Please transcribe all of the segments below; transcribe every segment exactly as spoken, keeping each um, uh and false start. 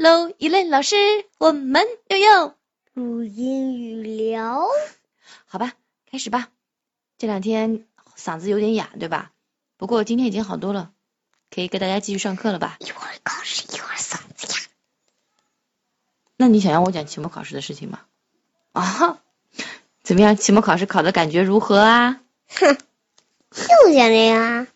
喽，一类老师，我们又要录英语聊。 好吧，开始吧。这两天嗓子有点哑，对吧？不过今天已经好多了，可以跟大家继续上课了吧？ 一会儿考试，一会儿嗓子哑。 那你想让我讲期末考试的事情吗？啊，怎么样？期末考试考的感觉如何啊？ 哼，就想这样啊。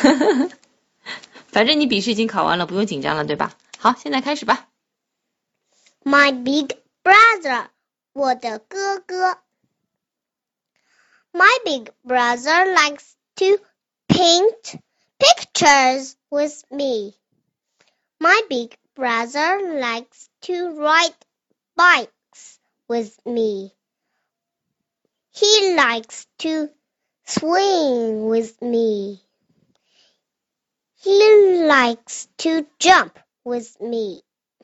反正你笔试已经考完了，不用紧张了，对吧？好，现在开始吧。 My big brother， 我的哥哥。My big brother likes to paint pictures with me. My big brother likes to ride bikes with me. He likes to swing with me. He likes to jump with me.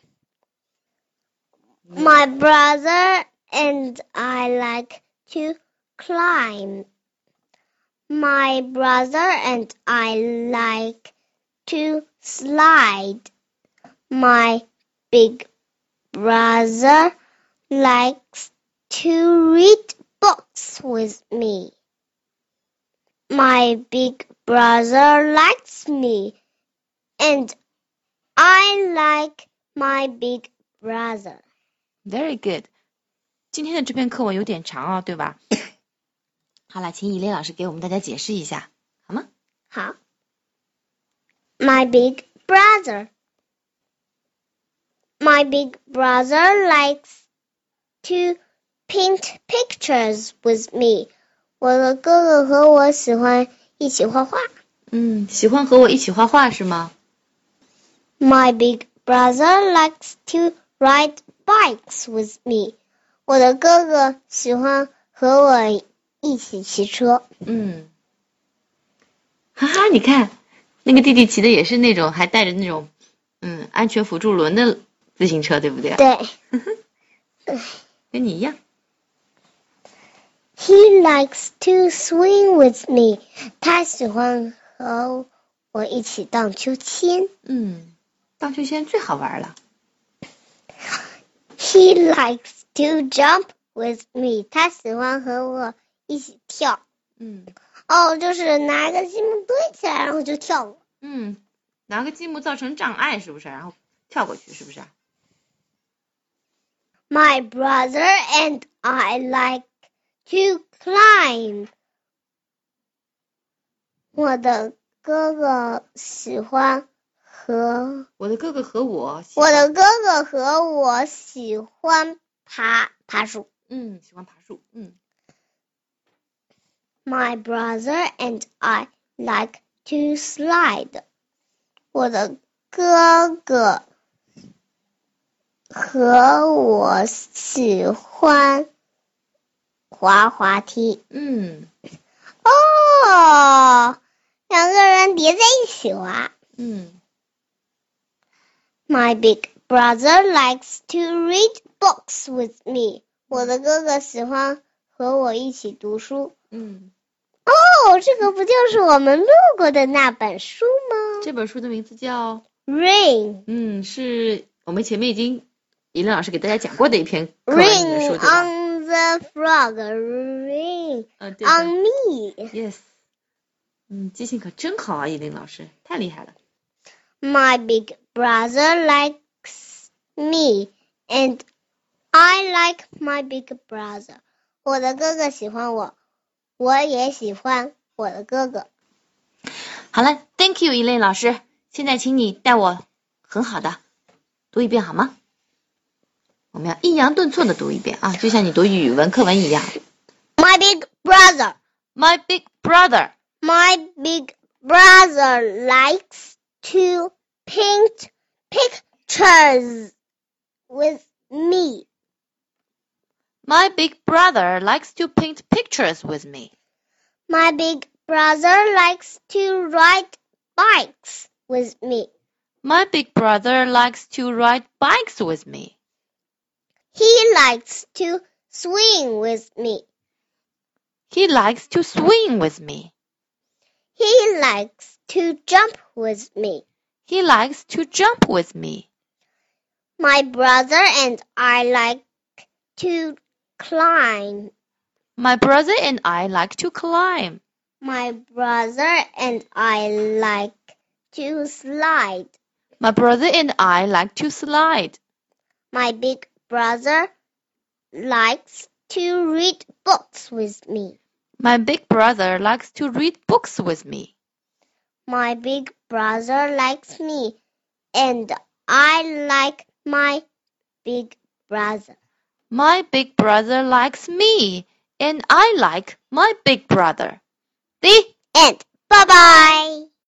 My brother and I like to climb. My brother and I like to slide. My big brother likes to read books with me. My big brother likes me, and I like my big brother. Very good。今天的这篇课文有点长哦，对吧？好了，请以琳老师给我们大家解释一下，好吗？ 好。My big brother. My big brother likes to paint pictures with me. 我的哥哥和我喜欢一起画画。 嗯，喜欢和我一起画画是吗？ My big brother likes to ride bikes with me. 我的哥哥喜欢和我一起骑车。 嗯，哈哈，你看，那个弟弟骑的也是那种还带着那种嗯安全辅助轮的自行车，对不对？ 对。 跟你一样。 He likes to swing with me. 他喜欢和我一起荡秋千。 嗯，荡秋千最好玩了。 He likes to jump with me. 他喜欢和我一起跳。 嗯。 哦，就是拿个积木堆起来，然后就跳过。 嗯，拿个积木造成障碍，是不是？然后跳过去，是不是？ My brother and I like to climb. 我的哥哥喜欢和我的哥哥和我我的哥哥和我喜欢爬爬树。 嗯，喜欢爬树。嗯。 My brother and I like to slide. 我的哥哥和我喜欢滑滑梯。 嗯。 哦，两个人叠在一起滑。 嗯。 My big brother likes to read books with me. 我的哥哥喜欢和我一起读书。 嗯。 哦，这个不就是我们录过的那本书吗？ 这本书的名字叫 Rain。 嗯，是我们前面已经以琳老师给大家讲过的一篇课文里面说的。 Rain on the frog, rain、 呃、 on me. Yes。嗯，记性可真好啊，以琳老师，太厉害了。 My big brother likes me, and I like my big brother. 我的哥哥喜欢我，我也喜欢我的哥哥。 好了 ，Thank you， 以琳老师。现在请你带我很好的读一遍好吗？我们要抑扬顿挫的读一遍啊，就像你读语文课文一样。 My big brother. My big brother. My big brother likes to paint pictures with me. My big brother likes to paint pictures with me. My big brother likes to ride bikes with me. My big brother likes to ride bikes with me. He likes to swing with me. He likes to swing with me. He likes to jump with me. He likes to jump with me. My brother and I like to climb. My brother and I like to climb. My brother and I like to slide. My brother and I like to slide. My big brother likes to read books with me. My big brother likes to read books with me. My big brother likes me, and I like my big brother. My big brother likes me, and I like my big brother. The end. Bye-bye.